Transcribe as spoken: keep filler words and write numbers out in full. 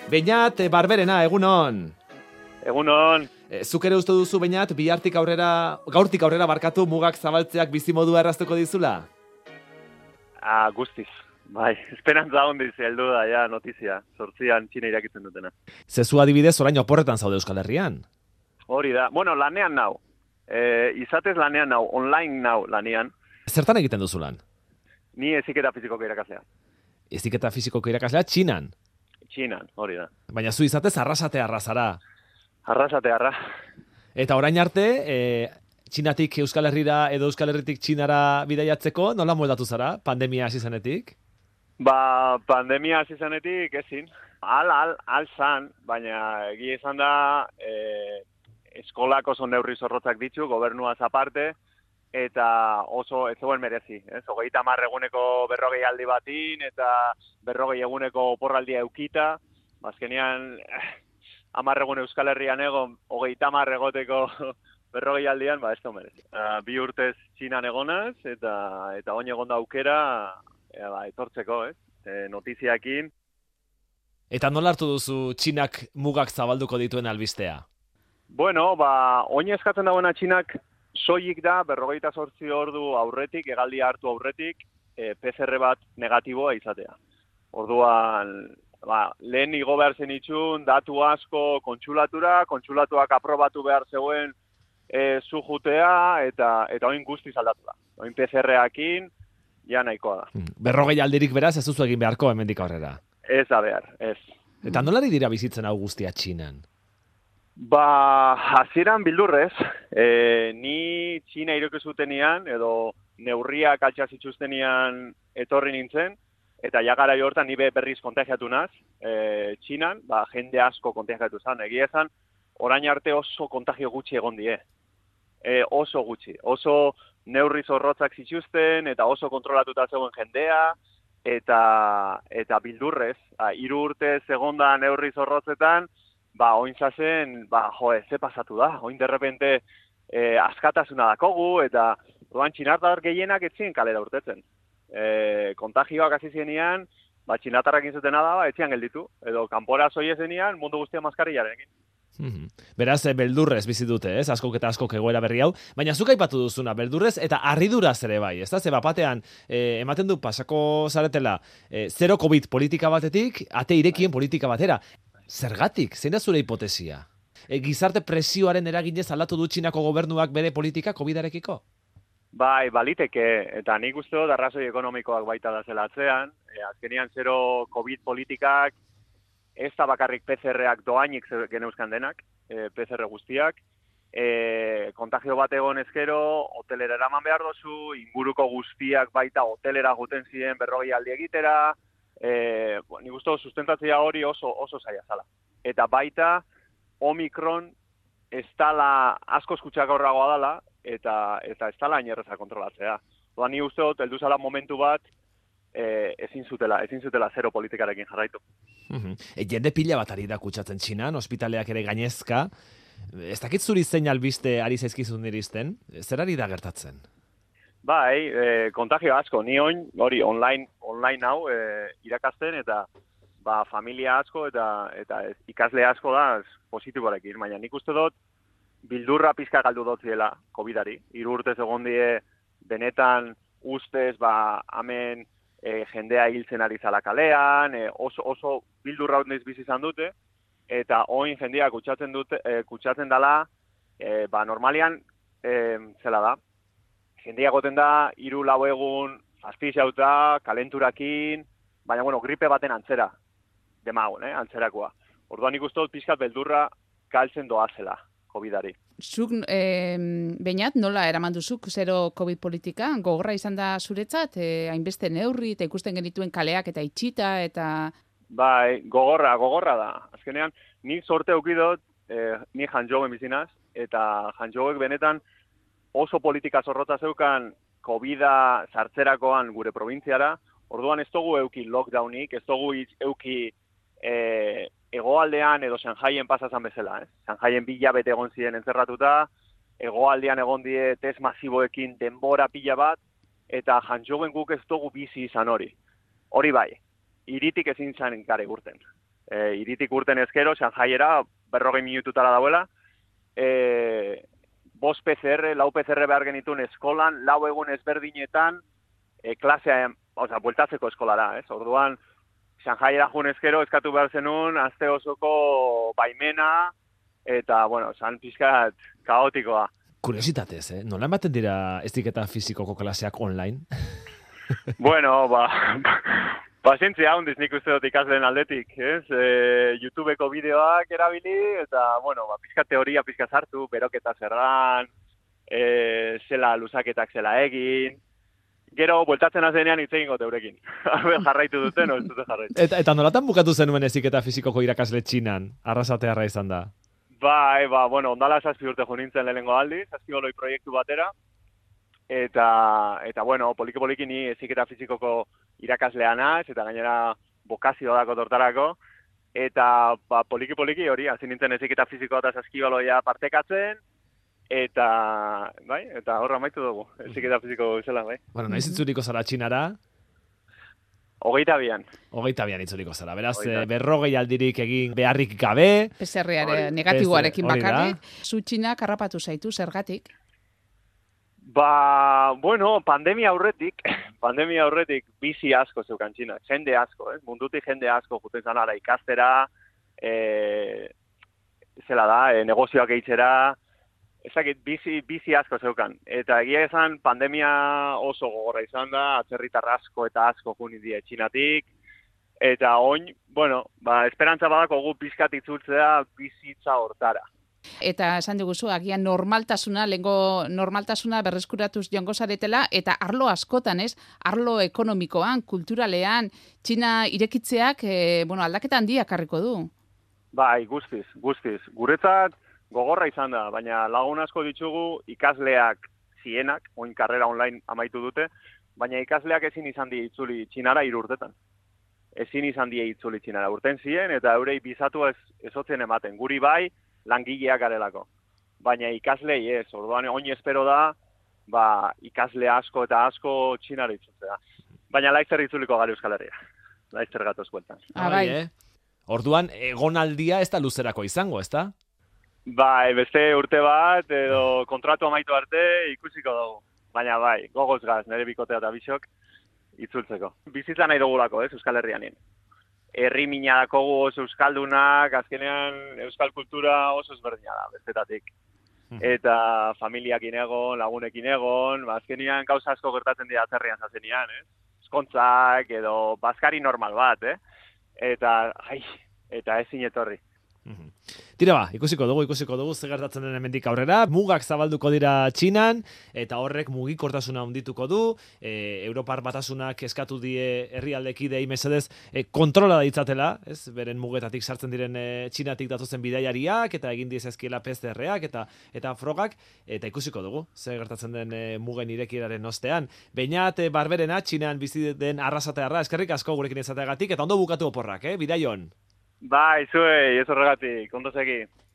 Beñat, Barberena, egunon. Egunon. E, zuk ere uste duzu, Beñat, bihartik aurrera, gaurtik aurrera barkatu mugak zabaltzeak bizimodua erraztuko dizula? Ah, guztiz. Bai, esperantza hondiz heldu da, ja, notizia. Zortzian Txina irakitzen dutena. Zezu adibidez, orain oporretan zaude Euskal Herrian. Hori da. Bueno, lanean nau. E, izatez lanean nau, online nau lanean. Zertan egiten duzu lan? Ni heziketa fizikoko irakaslea. Heziketa fizikoko irakaslea Txinan. Txinan, hori da. Baina zu izatez arrasate arrazara. Arrasate arra. Eta orain arte, e, Txinatik Euskal Herrira edo Euskal Herritik Txinara bidaiatzeko, nola moldatu zara, pandemia hasi zenetik? Ba, pandemia hasi zenetik ezin. Al, al, al zan, baina egia izan da, e, eskolak oso neurri zorrotzak ditu, gobernuaz aparte, eta oso ez zegoen merezi. Ez? Hogeita hamar eguneko berrogei aldi batin, eta berrogei eguneko oporraldia eukita, bazkenean hamar egun Euskal Herrian egon, hogeita hamar egoteko berrogei aldian, ba ez da merezi. Uh, bi urtez Txinan egonaz, eta eta oin egon da aukera, e, ba, etortzeko, ez? E, notiziakin. Eta nola hartu duzu Txinak mugak zabalduko dituen albistea? Bueno, ba, oin eskatzen dagoena Txinak soilik da, berrogeita zortzi ordu aurretik, hegaldia hartu aurretik, e, P C R bat negatiboa izatea. Orduan, ba, lehen igo behar zen itxun, datu asko kontxulatura, kontxulatuak aprobatu behar zegoen e, zu jutea, eta, eta oin guztiz aldatu da. Oin P C R-akin, ja nahikoa da. Berrogei aldirik beraz ez duzu egin beharko hemendik aurrera. Ez da behar, ez. Eta nolari dira bizitzen hau guztia Txinan? Ba, hasieran bildurrez, e, ni Txina ireki zutenean, edo neurriak altxa zituztenean etorri nintzen, eta ja garai hortan ni berriz kontagiatu naz, e, Txinan, ba, jende asko kontagiatu zen. Egia esan, orain arte oso kontagio gutxi egon die. E, oso gutxi. Oso neurri zorrotzak zituzten, eta oso kontrolatuta zegoen jendea, eta, eta bildurrez, a, hiru urte egonda neurri zorrotzetan, ba, oin zazen, ba, jo, ze pasatu da, oin derrepente e, askatasuna dakogu, eta oan txinatar gehienak etzien kalera urtetzen. E, kontagioak hasi zenean, ba, txinatarrak inzutena da, ba, etzian gelditu, edo kanpora zoie zenean, mundu guztia maskarillarekin. Mm-hmm. Beraz, e, beldurrez bizi dute, ez? Askok eta askok egoera berri hau, baina zuk aipatu duzuna, beldurrez eta harriduraz ere bai, ez da? Ze bapatean, e, ematen du pasako zaretela, e, zero COVID politika batetik, ate irekien politika batera. Zergatik? Zein da zure hipotesia? E, gizarte presioaren eraginez aldatu du Txinako gobernuak bere politika COVIDarekiko? Bai, baliteke, eta nik uste dut arrazoi ekonomikoak baita da zela atzean, e, azkenean zero COVID politikak, ez da bakarrik P C R-ak doainik geneuzkan denak, e, P C R guztiak, e, kontagio bat egon ezkero, hotelera eraman behar dozu, inguruko guztiak baita hotelera juten ziren berrogei aldi egitera, e, bo, nik uste dut sustentatzea hori oso, oso zaila zala. Eta baita, Omikron ez dala asko eskutxakorragoa dela, eta, eta ez dala inerreza kontrolatzea. Oda, ni uste dut, heldu zala momentu bat, e, ezin zutela, ezin zutela zero politikarekin jarraitu. Mm-hmm. E, jende pila bat ari da kutsatzen Txinan, ospitaleak ere gainezka. Ez dakit zuri zein albiste ari zaizkizun iristen, zer ari da gertatzen? Bai, e, kontagio asko, ni oin, hori, online, online hau e, irakasten, eta ba, familia asko eta eta ez, ikasle asko da positiborekin, baina nik uste dut bildurra pizka galdu dotziela COVIDari. Hiru urtez egon die benetan ustez, ba, hemen e, jendea hiltzen ari zala kalean, e, oso, oso bildurra hondiz bizi izan dute, eta oin jendea kutsatzen dute, e, kutsatzen dela, e, ba, normalian, e, zela da, jendea goten da, hiru lau egun, azpixauta, kalenturakin, baina, bueno, gripe baten antzera, demagun, eh, antzerakoa. Orduan ikustu dut pixkat beldurra galtzen doazela COVIDari. Zuk, eh, Beñat, nola eraman duzuk zero COVID politika? Gogorra izan da zuretzat, eh, hainbeste neurri, eta ikusten genituen kaleak eta itxita, eta... Bai, gogorra, gogorra da. Azkenean, ni sorte eukidot, eh, ni Hangzhouen bizinaz, eta Hangzhouek benetan oso politika zorrotza zeukan COVIDa sartzerakoan gure probintziara, orduan ez dugu euki lockdownik, ez dugu euki e, egoaldean edo Shanghaien pasazan bezala. Eh? Shanghaien bila bete egon ziren entzerratuta, egoaldean egon die test masiboekin denbora pila bat, eta Hangzhouen guk ez dugu bizi izan hori. Hori bai, iritik ezin zan gare gurten. e, iritik urten ezkero, Shanghaiera berrogei minututara dauela, e, bost P C R, lau P C R behar genituen eskolan, lau egun ezberdinetan, e, klasea, oza, bueltatzeko eskolara, ez? Orduan, Shanghaiera jun ezkero, eskatu behar zenun, azte osoko baimena, eta, bueno, san pixkat kaotikoa. Kuriositatez, eh? Nola ematen dira eziketa fizikoko klaseak online? Bueno, ba, pazientzia handiz nik uste dut ikasleen aldetik, ez? E, YouTubeko bideoak erabili, eta, bueno, ba, pixka teoria, pixka sartu, beroketa zerran, e, zela luzaketak zela egin, gero, bueltatzen azenean hitz egingo teurekin. Jarraitu duten, o ez dute jarraitu. Eta, eta nolatan bukatu zenuen eziketa fizikoko irakasle txinan, arrasatearra izan da? Bai, ba, bueno, ondala zazpi urte jo nintzen lehenengo aldiz, zazpioloi proiektu batera, eta, eta bueno, poliki-poliki ni heziketa fizikoko irakaslea naiz, eta gainera bokazio dako tortarako, eta ba, poliki-poliki hori, hasi nintzen heziketa fizikoa eta zazkibaloia partekatzen, eta, bai, eta horra amaitu dugu, heziketa fiziko bezala, bai. Bueno, naiz itzuliko zara txinara, Hogeita bian. Hogeita bian itzuliko zara. Beraz, e, berrogei aldirik egin beharrik gabe. P C R negatiboarekin bakarrik. Zu Txinak harrapatu zaitu, zergatik? Ba, bueno, pandemia aurretik, pandemia aurretik bizi asko zeukan Txinak. Jende asko, eh? Mundutik jende asko juten zanara ikastera, e, zela da, e, negozioak eitzera, ezakit, bizi, bizi asko zeukan. Eta egia esan, pandemia oso gogorra izan da, atzerritar asko eta asko juni die Txinatik. Eta oin, bueno, ba, esperantza badako gu pizkat itzultzea bizitza hortara. Eta esan diguzu, agian normaltasuna, lengo normaltasuna berreskuratuz joango zaretela, eta arlo askotan, ez? Arlo ekonomikoan, kulturalean, Txina irekitzeak, e, bueno, aldaketa handiak harriko du. Bai, guztiz, guztiz. Guretzat, gogorra izan da, baina lagun asko ditugu ikasleak zienak, oin karrera online amaitu dute, baina ikasleak ezin izan die itzuli Txinara hiru urtetan. Ezin izan die itzuli Txinara urten zien, eta eurei bizatu ez, ezotzen ematen. Guri bai, langileak garelako. Baina ikaslei ez, orduan oin espero da, ba, ikasle asko eta asko Txinara itzutzea. Baina laizzer itzuliko gari Euskal Herria. Laizzer gatoz bueltan. Ah, bai. Eh? Orduan, egonaldia ez da luzerako izango, ez da? Bai, beste urte bat, edo kontratu amaitu arte ikusiko dugu. Baina bai, gogoz gaz, nire bikotea eta bisok, itzultzeko. Bizitza nahi dugulako, ez, Euskal Herrianin. Herri mina dakogu oso euskaldunak, azkenean euskal kultura oso ezberdina da, bestetatik. Eta familiakin egon, lagunekin egon, azkenean gauza asko gertatzen dira atzerrian zazenean, eh? Eskontzak edo bazkari normal bat, eh? Eta, ai, eta ezin etorri. Tira ba, ikusiko dugu, ikusiko dugu, ze gertatzen den hemendik aurrera, mugak zabalduko dira Txinan, eta horrek mugikortasuna handituko du, e, Europar batasunak eskatu die herrialdekidei mesedez e, kontrola ditzatela, ez, beren mugetatik sartzen diren e, Txinatik datozen bidaiariak, eta egin diezazkiela P C R-ak, eta, eta frogak, eta ikusiko dugu, ze gertatzen den e, mugen irekieraren ostean. Beñat e, Barberena, Txinan bizi den arrasatearra, eskerrik asko gurekin izateagatik, eta ondo bukatu oporrak, eh, bidaion. Bai, zuei, ez horregatik, ondo segi.